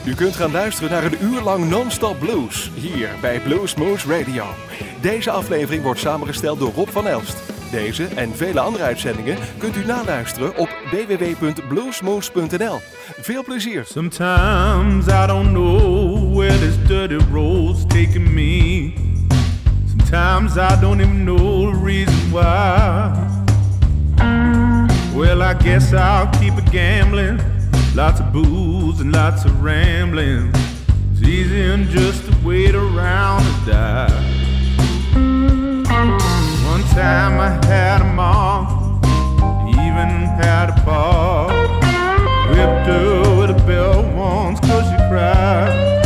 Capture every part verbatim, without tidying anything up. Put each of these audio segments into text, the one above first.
U kunt gaan luisteren naar een uur lang non-stop blues, hier bij Bluesmoose Radio. Deze aflevering wordt samengesteld door Rob van Elst. Deze en vele andere uitzendingen kunt u naluisteren op w w w punt bluesmoose punt n l. Veel plezier! Sometimes I don't know where this dirty road's taking me. Sometimes I don't even know the reason why. Well, I guess I'll keep it gambling. Lots of booze and lots of rambling. It's easier than just to wait around and die. One time I had a mom, even had a pa. Whipped her with a belt once cause she cried.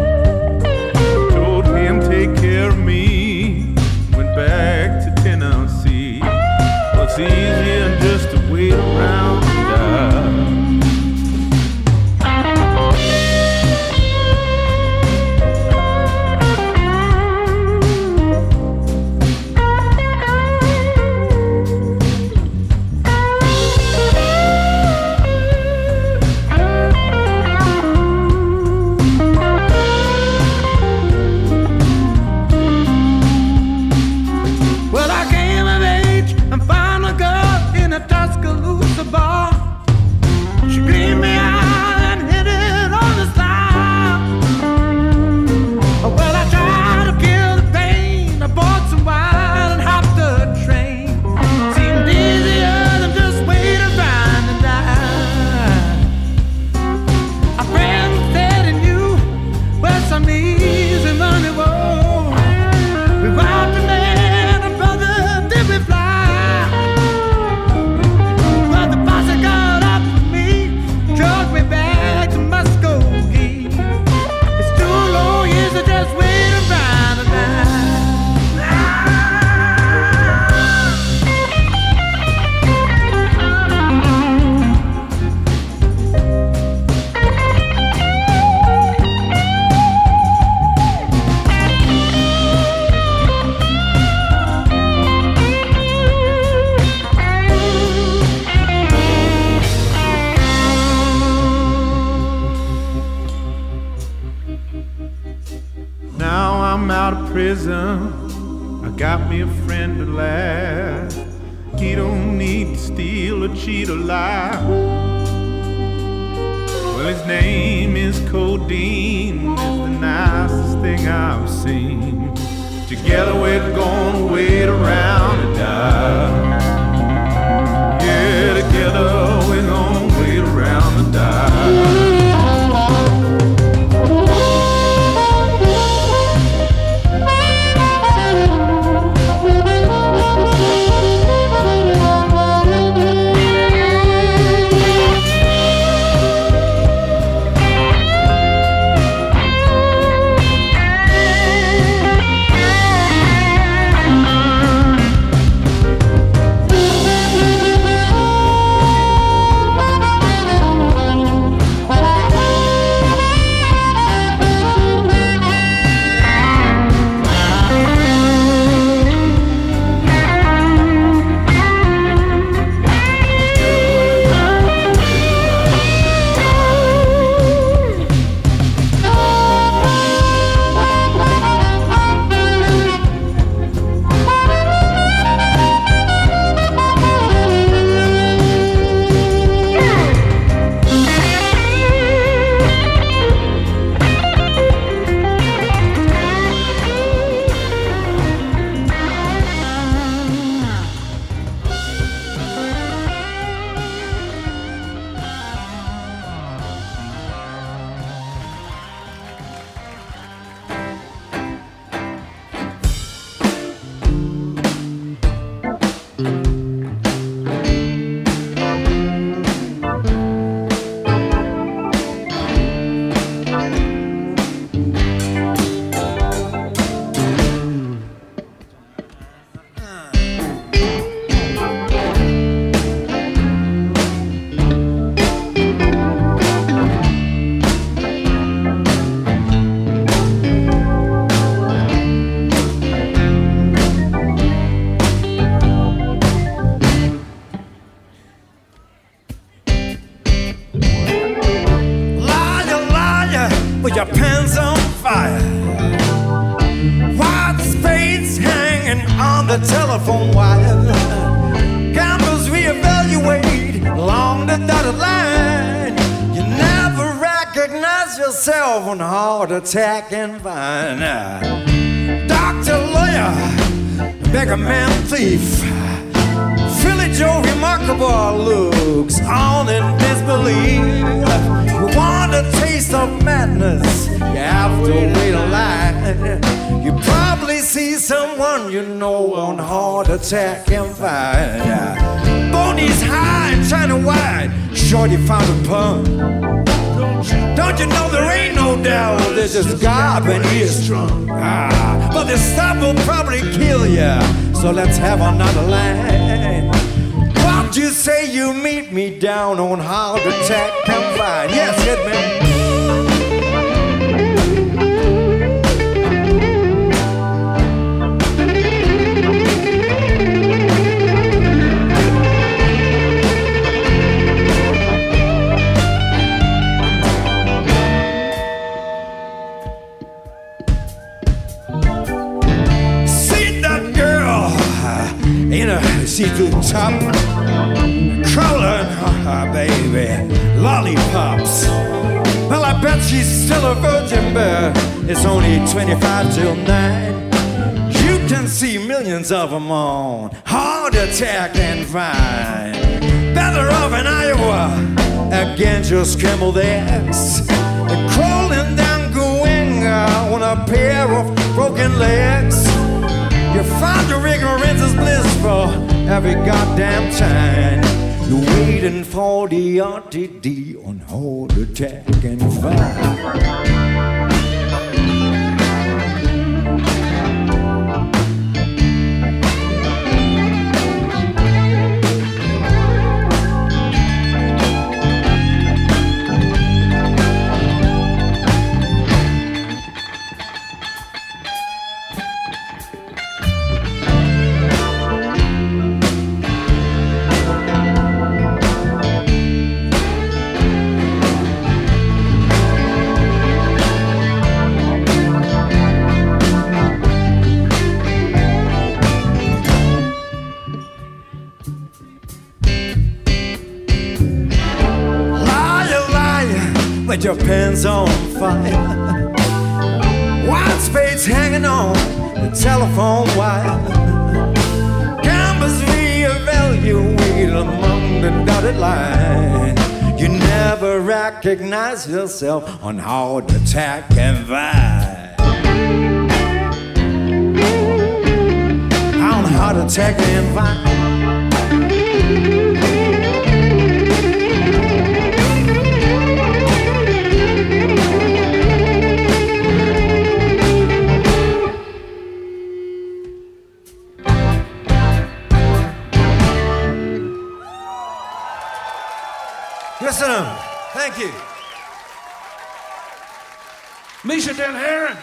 Told him take care of me. Went back to Tennessee. Well, it's easier than just to wait around and die. I got me a friend at last. He don't need to steal or cheat or lie. Well, his name is Codeine. It's the nicest thing I've seen. Together we're gonna wait around and die. Yeah, together we're gonna wait around and die. telephone wire. Gamblers reevaluate along the dotted line. You never recognize yourself on heart attack and vine. Doctor, lawyer, beggar, man, thief. Philly Joe, remarkable looks on in disbelief. You want a taste of madness, you have to wait a line. You probably see someone you know on heart attack and fire. Boney's high and China wide, shorty found a pun. Don't you know there ain't no doubt there's just God and he is strong. Ah, but this stuff will probably kill ya, so let's have another line. What you say you meet me down on heart attack and fire? Yes, hit me. See-through top, crawling, oh, baby, lollipops. Well, I bet she's still a virgin, but it's only twenty-five till nine. You can see millions of them on heart attack and vine. Better off in Iowa against your scrambled eggs. And crawling down Goenga on a pair of broken legs. You find your ignorance is blissful every goddamn time. You're waiting for the R T D on heart attack and fire. With your pants on fire, white spades hanging on the telephone wire. Gamblers reevaluate among the dotted line. You never recognize yourself on heart attack and vine. On heart attack and vine. Listen, thank you. Misha Den Heren.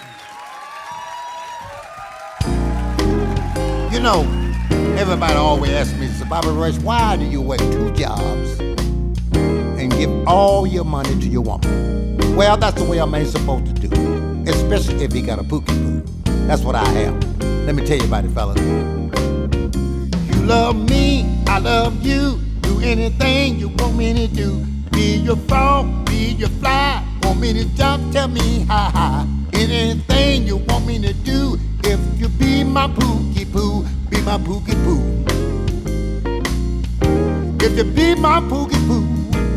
You know, everybody always asks me, so Bobby Rush, why do you work two jobs and give all your money to your woman? Well, that's the way a man's supposed to do, especially if he got a pookie poo. That's what I have. Let me tell you about it, fellas. You love me, I love you. Do anything you want me to do. Be your frog, be your fly. Want me to jump, tell me ha ha. Anything you want me to do. If you be my pookie poo, be my pookie poo. If you be my pookie poo,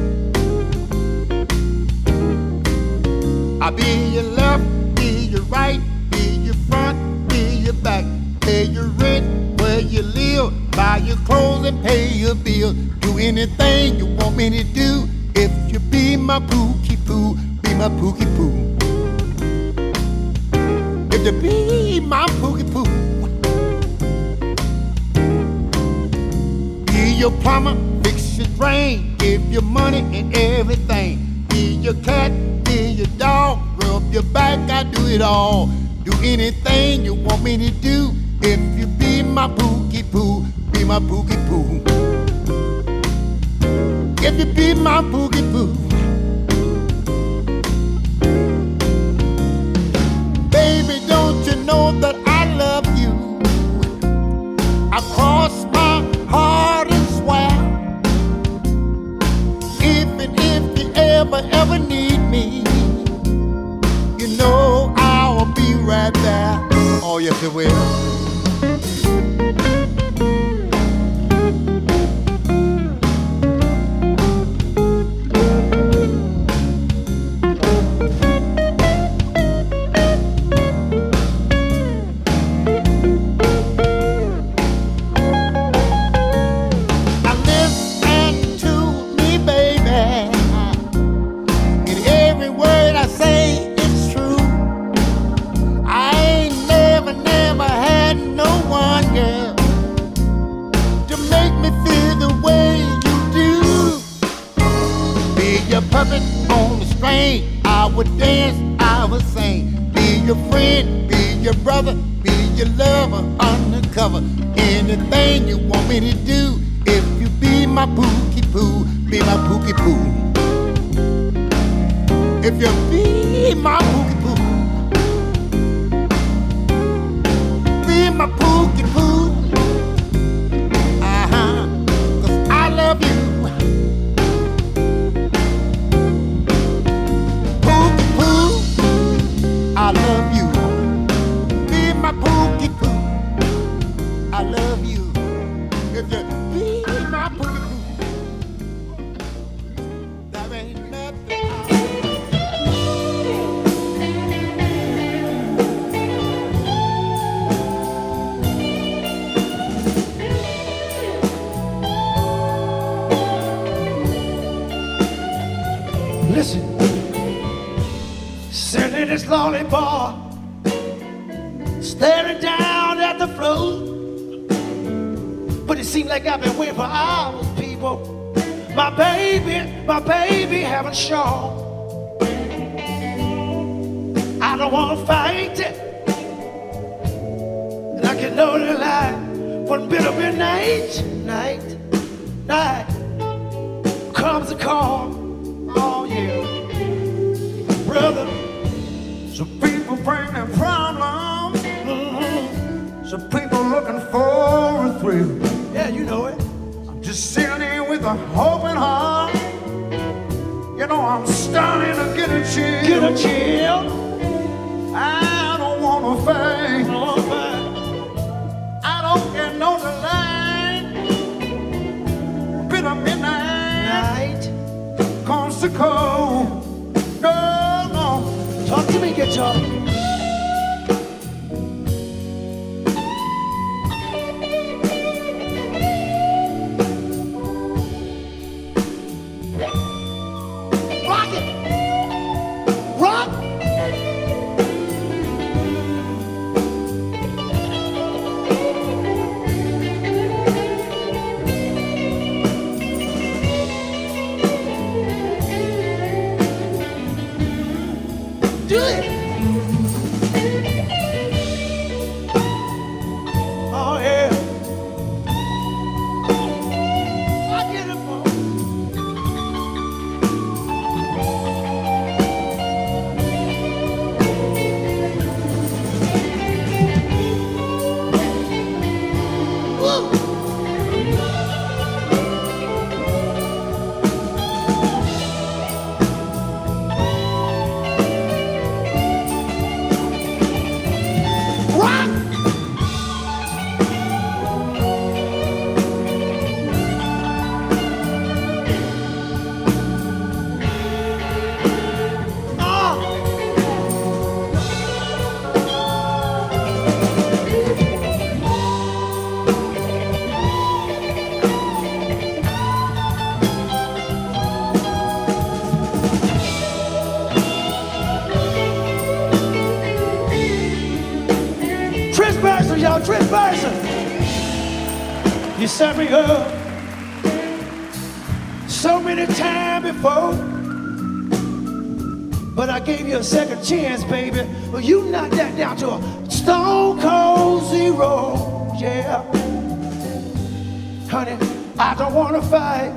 I'll be your left, be your right, be your front, be your back. Pay your rent, where you live, buy your clothes and pay your bill. Do anything you want me to do. If you be my pookie poo, be my pookie poo. If you be my pookie poo, be your plumber, fix your drain, give you money and everything. Be your cat, be your dog, rub your back, I do it all. Do anything you want me to do. If you be my pookie poo, be my pookie poo. If you be my pookie poo, baby, don't you know that I love you? I cross my heart and swear, if and if you ever, ever need me, you know I'll be right there. Oh, yes, it will. Puppet on the string, I would dance, I would sing. Be your friend, be your brother, be your lover, undercover. Anything you want me to do, if you be my pookie poo, be my pookie poo. If you be my pookie poo, be my pookie poo. Uh-huh, 'cause I love you. I love you. Be my pookie poo. I love you. If you be my pookie poo, that ain't nothing. Listen. Sitting in this lonely bar, staring down at the floor. But it seems like I've been waiting for hours, people. My baby, my baby haven't shown. I don't want to fight it, and I can know the lie. One bit of midnight, night, night comes a call. Oh yeah, brother. Some people bring their problems. Mm-hmm. Some people looking for a thrill. Yeah, you know it. I'm just sitting here with a open heart. You know I'm starting to get a chill. Get a chill. I don't want to fight. No fight. I don't get no delay. Bit of midnight Night comes to cold. No, no. Talk to me, guitar. Rock it! Rock! Do it! Oh yeah. I get it, boy. Y'all, Trent Bison. You set me up so many times before, but I gave you a second chance, baby. Well, you knocked that down to a stone cold zero. Yeah, honey, I don't want to fight.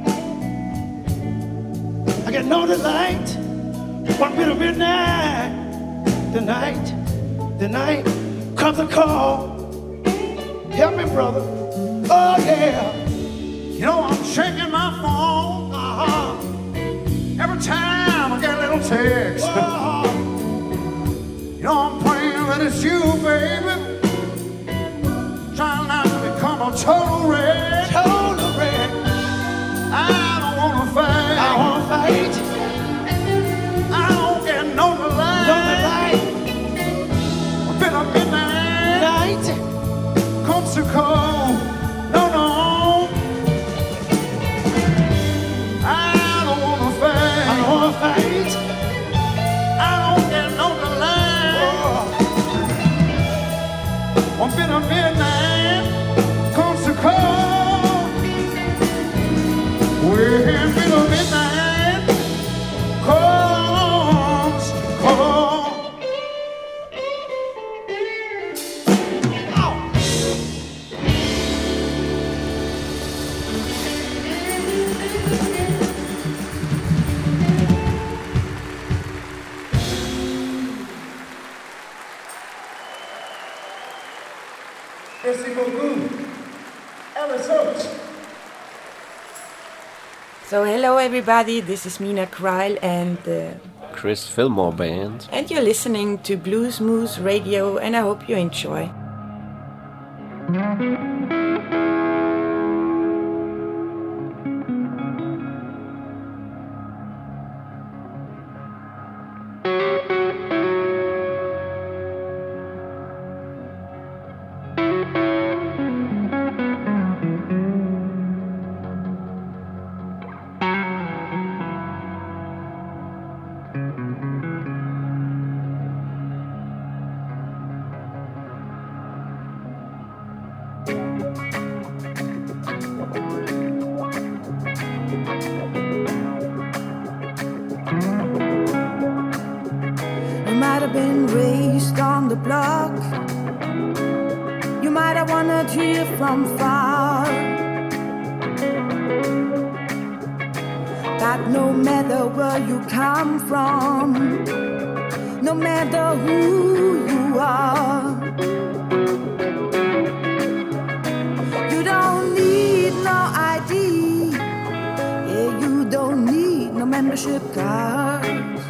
I got no delight. One bit of midnight, the night, the night comes a call. Help me, brother. Oh yeah. You know I'm checking my phone uh-huh. every time I get a little text. Uh-huh. You know I'm praying that it's you, baby. Trying not to become a total wreck. Total wreck. I don't wanna fight. I wanna fight. I don't get no delight. No delight. I've been a midnight. Night. Comes to call. No, no. I don't wanna fight. I don't wanna fight. I don't get no delight. Oh. I've been a midnight. Comes to call. We're in a midnight. Comes to call. Merci beaucoup. Alice Oates. So hello everybody, this is Mina Kreil and uh, Chris Fillmore Band. and you're listening to Blues Moose Radio and I hope you enjoy. You might have been raised on the block. You might have wanted to hear from far. But no matter where you come from, no matter who you are, you don't need no I D. Yeah, you don't need no membership card.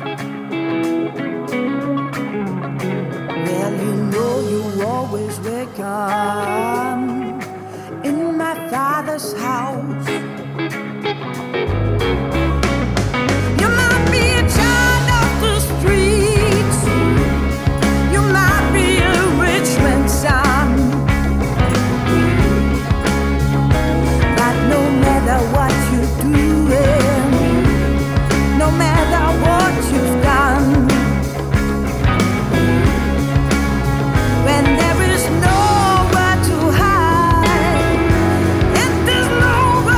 Well, you know you always welcome in my Father's house. You might be a child of the streets. You might be a rich man's son. But no matter what you're doing, no matter what you've done, when there is nowhere to hide and there's nowhere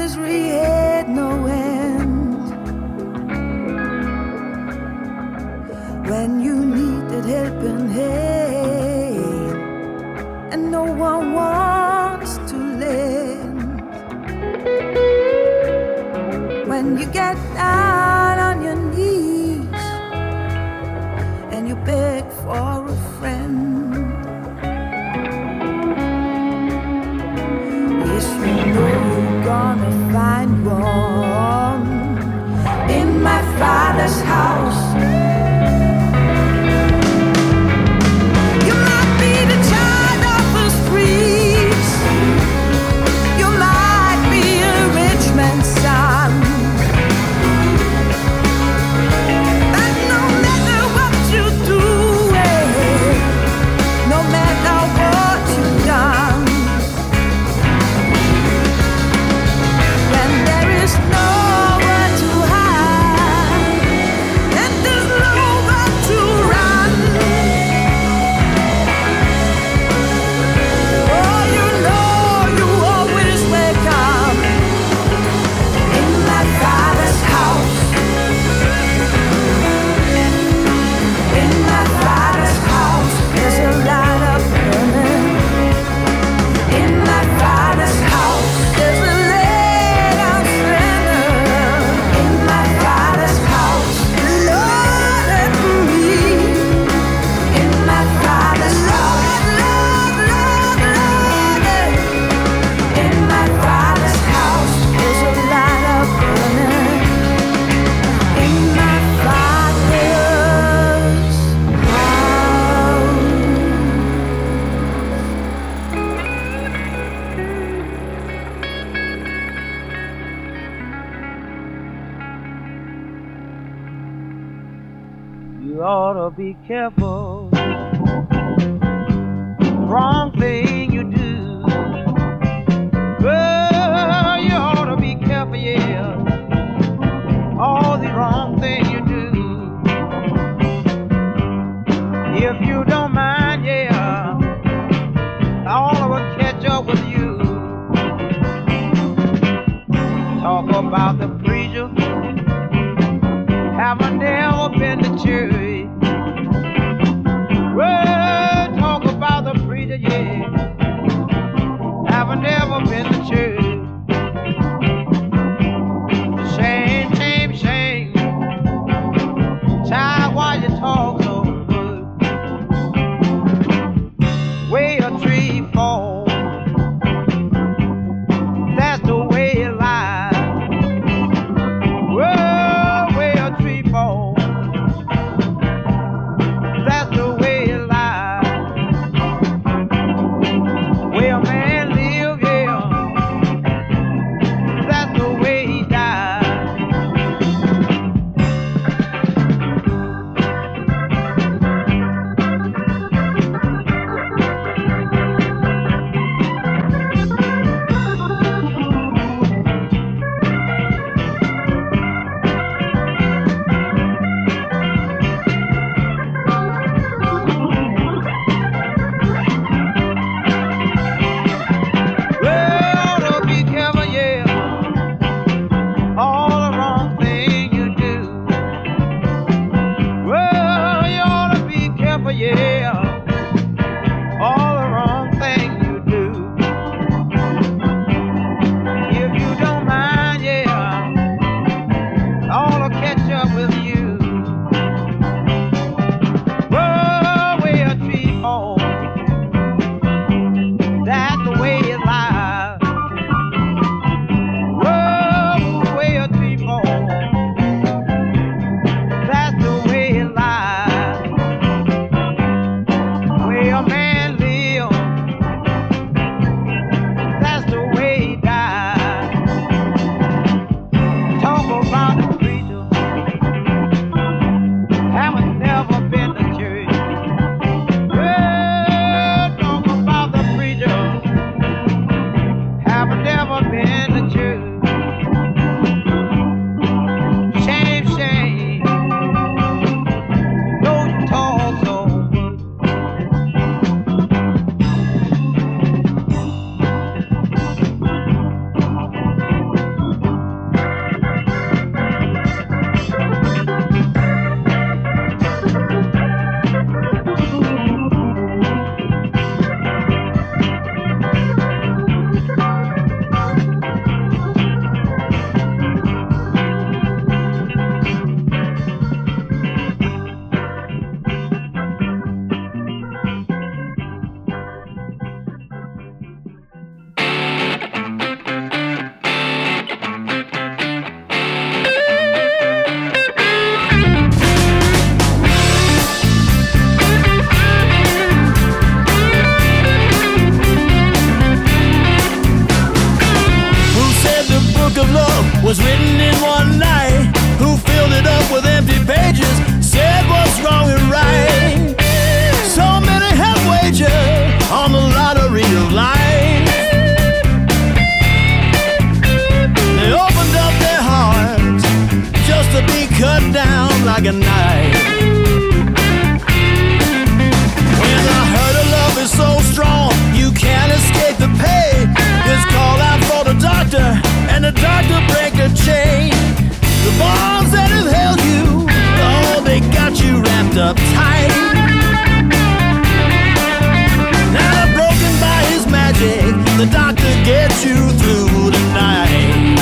misery had no end. When you needed helping hand and no one wants to lend. When you get down on your knees and you beg for a friend. Yes, you know you're gonna find one in my Father's house. You might be the child of the streets. You might be a rich man's son. But no matter what you do, no matter what you've done, when there is nowhere to hide and there's nowhere to run, oh, you know you always wake up in my Father's house. In my Father's house, there's a light up burning. In my Father's house, there's a lay down sinner. In my Father's house, Lord and me. In my Father's house, Lord, Lord, Lord. In my Father's house, there's a light up burning. In my Father's house. You ought to be careful. Wrong thing you do. Well, you ought to be careful, yeah. All the wrong thing you do. If you don't mind, yeah, all of us catch up with you. Talk about the preacher. Haven't never been to church. Well, talk about the preacher, yeah. Haven't never been to church. Shame, shame, shame. Child, why you talk so good? Way a tree fall, that's the way it lies. of love was written in one night. Who filled it up with empty pages, said what's wrong and right. So many have wagered on the lottery of life. They opened up their hearts just to be cut down like a knife. When the hurt of love is so strong, you can't escape the pain. Just call out for the doctor, and the doctor break the chain. The bonds that have held you, oh, they got you wrapped up tight. Now broken by his magic, the doctor gets you through the night.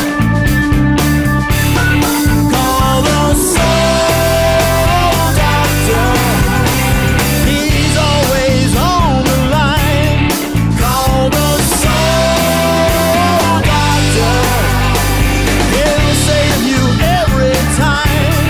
Call the soul doctor, he's always on the line. Call the soul doctor, he'll save you every time.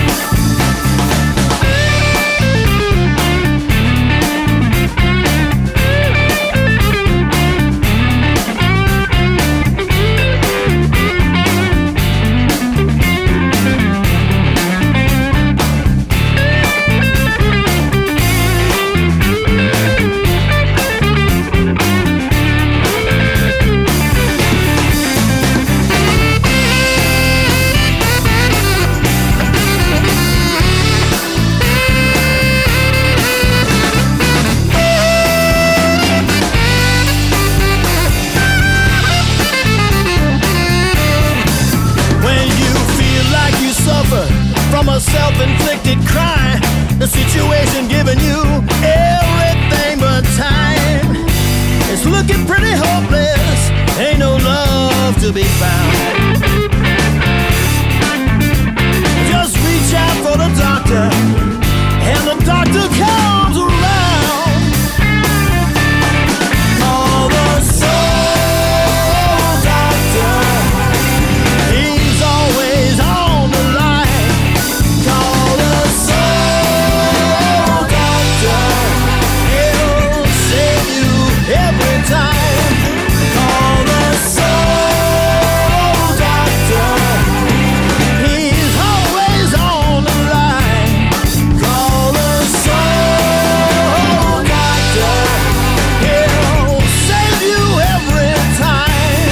From a self-inflicted crime, the situation giving you everything but time. It's looking pretty hopeless, ain't no love to be found. Just reach out for the doctor, and the doctor comes around. Call the soul doctor, he's always on the line. Call the soul doctor, he'll save you every time. Call the soul doctor, he's always on the line. Call the soul doctor, he'll save you every time.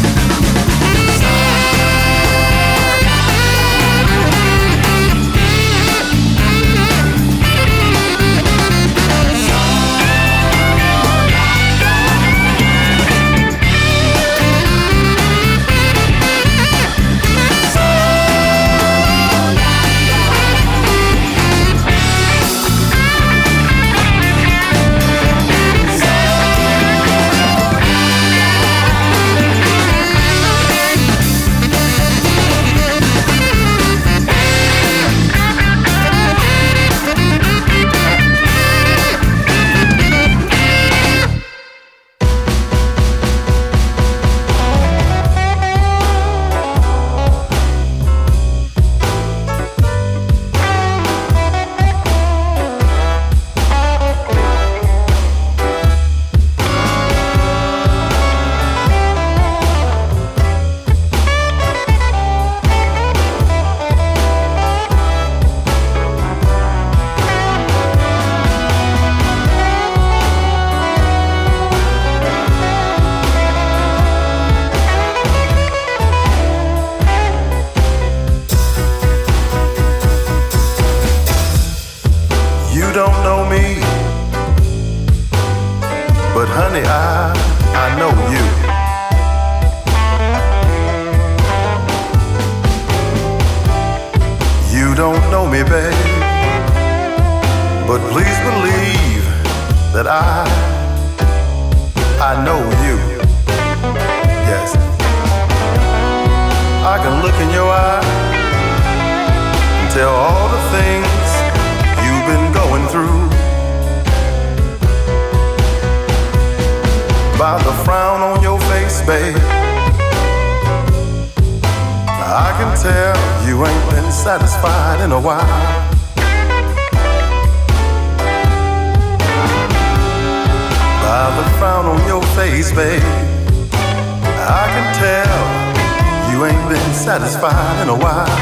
honey, I, I know you. You don't know me, babe, but please believe that I, I know you. Yes, I can look in your eye and tell all the things you've been going through. By the frown on your face, babe, I can tell you ain't been satisfied in a while. By the frown on your face, babe, I can tell you ain't been satisfied in a while.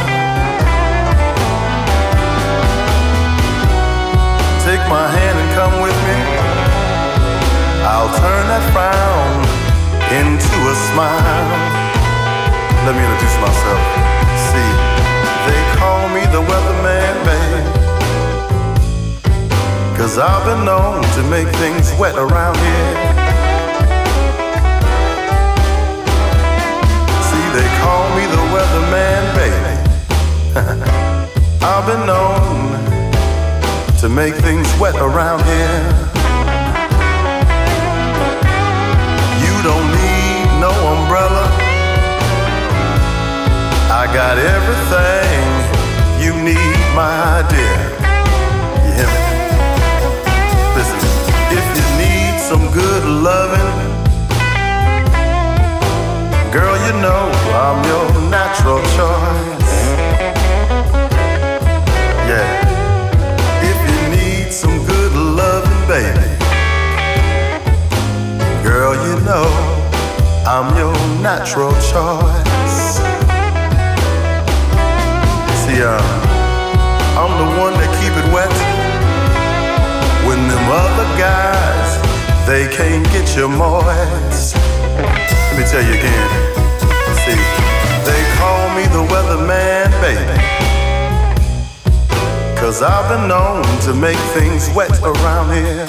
Take my hand and come with me. I'll turn that frown into a smile. Let me introduce myself. See, they call me the weatherman, babe, 'cause I've been known to make things wet around here. See, they call me the weatherman, baby. I've been known to make things wet around here. You don't need no umbrella. I got everything you need, my dear. You hear me? Listen, if you need some good loving, girl, you know I'm your natural choice. Yeah. If you need some good loving, baby, girl, you know I'm your natural choice. See, uh, I'm the one that keep it wet when them other guys, they can't get you moist. Let me tell you again. See, they call me the weatherman, baby, 'cause I've been known to make things wet around here.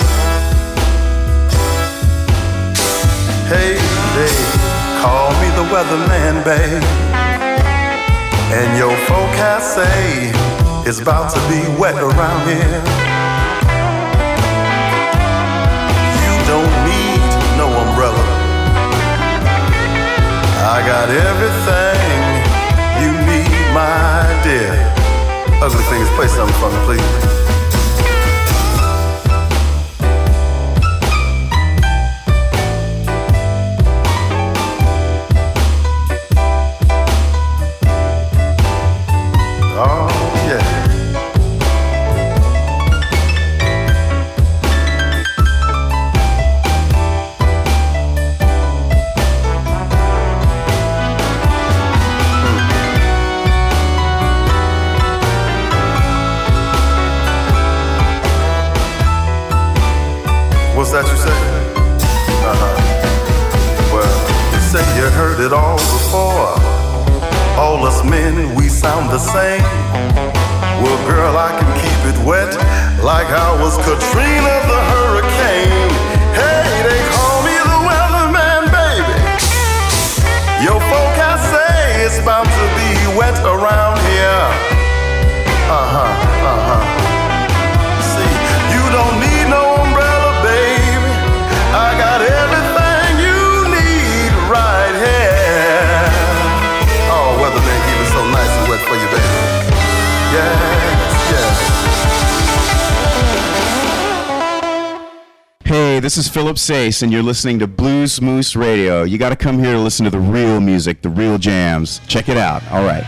Hey, they call me the weatherman, babe, and your forecast say it's about to be wet around here. You don't need no umbrella. I got everything you need, my dear. Ugly Fingers, play something for me, please. Oh, yeah. What's that you say? Uh-huh. Well, you say you heard it all before. All us men, we sound the same. Well, girl, I can keep it wet like I was Katrina the hurricane. Hey, they call me the weatherman, baby. Your forecast say it's about to be wet around here. Uh-huh, uh-huh. See, you don't need no umbrella, baby. I got everything you need right here. Oh, weatherman, keep it so nice and wet for you, baby. Yes, yes. Hey, this is Philip Sace, and you're listening to Blues Moose Radio. You got to come here to listen to the real music, the real jams. Check it out. All right.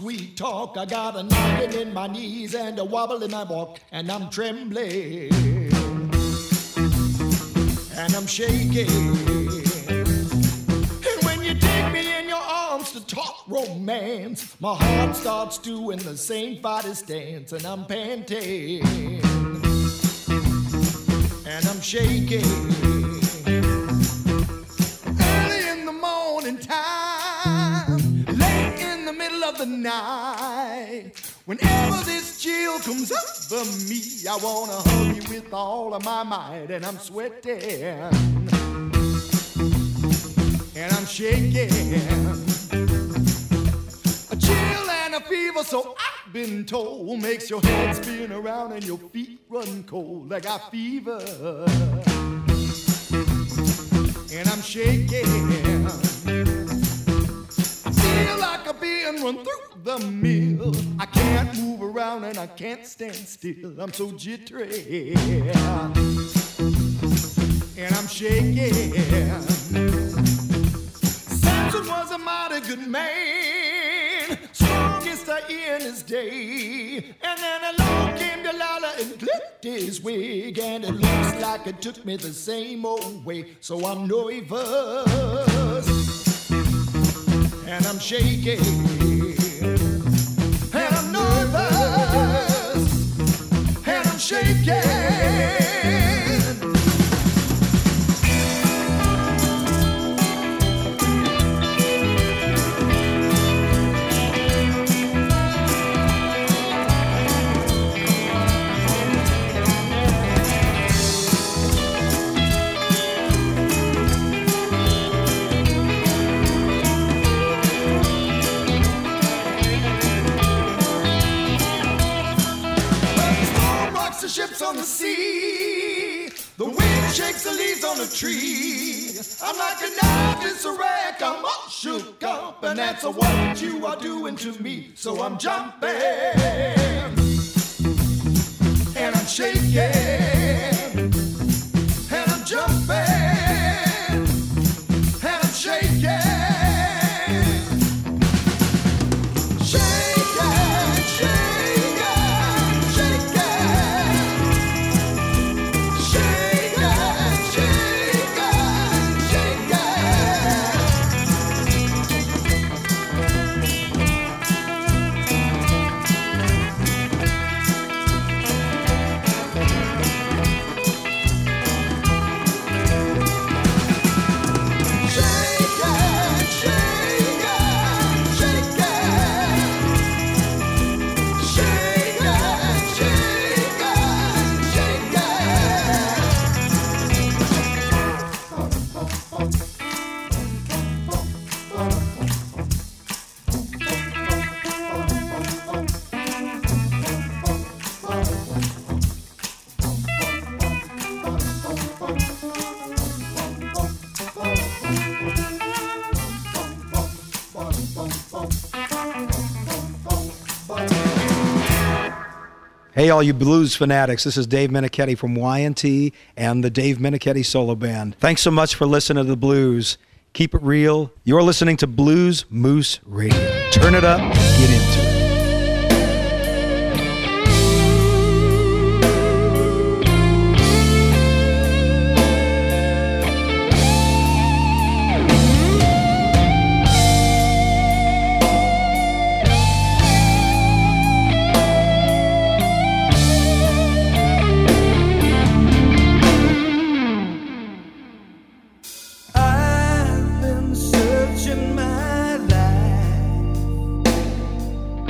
sweet talk. I got a knocking in my knees and a wobble in my walk, and I'm trembling, and I'm shaking. And when you take me in your arms to talk romance, my heart starts doing the same body stance, and I'm panting, and I'm shaking. Early in the morning time, late in the middle of the night, whenever this chill comes over me, I wanna hug you with all of my might, and I'm sweating, and I'm shaking. A chill and a fever, so I've been told, makes your head spin around and your feet run cold. I got fever, and I'm shaking. I feel like I'm being run through the mill. I can't move around and I can't stand still. I'm so jittery, and I'm shaking. Samson was a mighty good man, strongest in his day. And then along came Delilah and clipped his wig, and it looks like it took me the same old way. So I'm nervous, and I'm shaking, and I'm nervous, and I'm shaking. The ships on the sea, the wind shakes the leaves on the tree. I'm like a knife in a wreck, I'm all shook up, and that's what you are doing to me. So I'm jumping, and I'm shaking, and I'm jumping, and I'm shaking. Hey, all you blues fanatics, this is Dave Menichetti from Y and T and the Dave Menichetti Solo Band. Thanks so much for listening to the blues. Keep it real. You're listening to Blues Moose Radio. Turn it up, get into it. I've been searching my life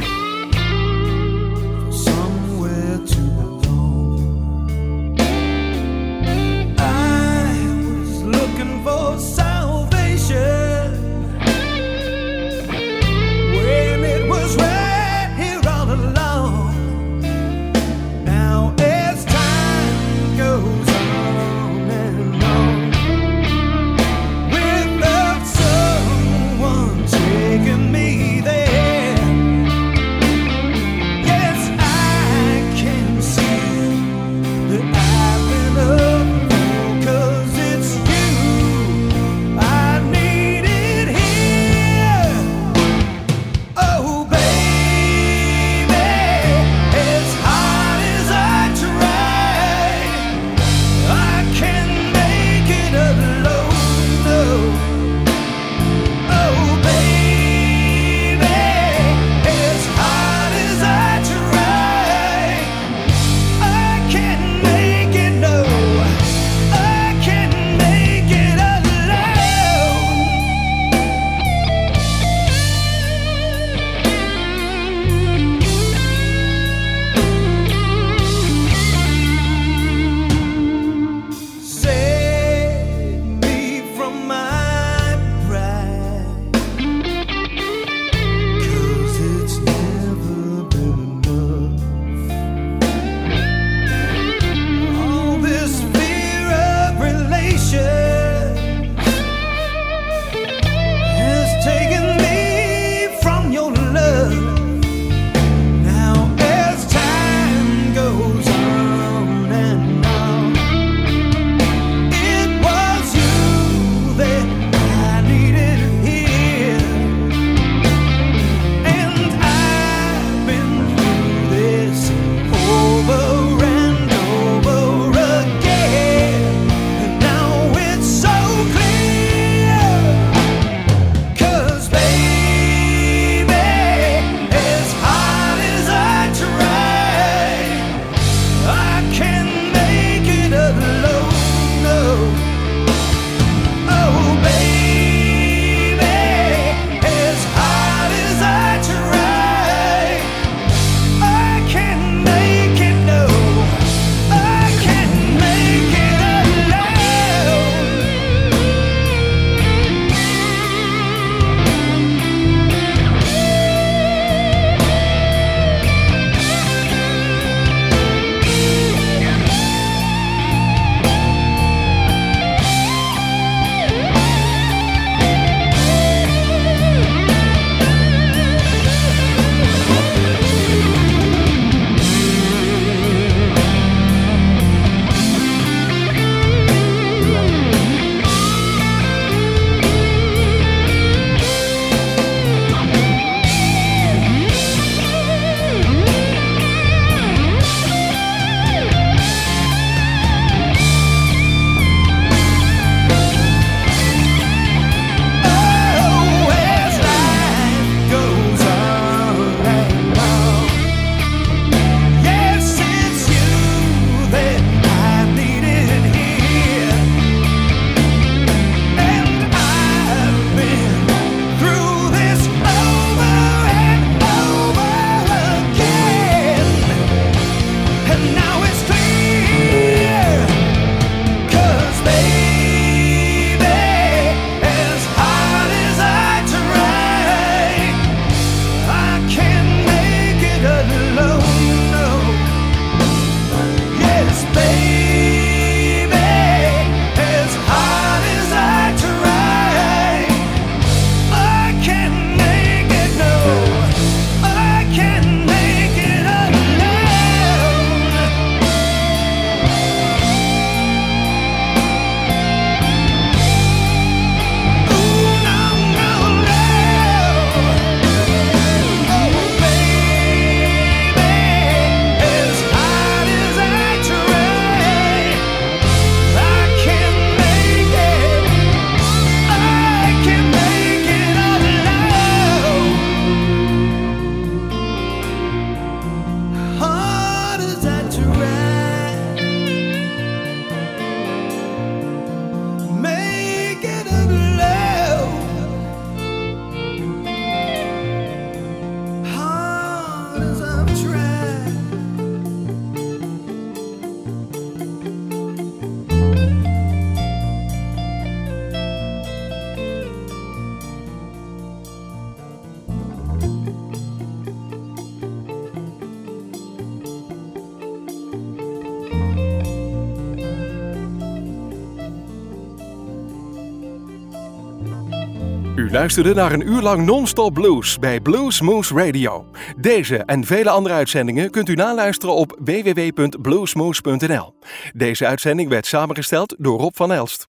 U luisterde naar een uur lang non-stop blues bij Blues Moose Radio. Deze en vele andere uitzendingen kunt u naluisteren op w w w punt bluesmoose punt n l. Deze uitzending werd samengesteld door Rob van Elst.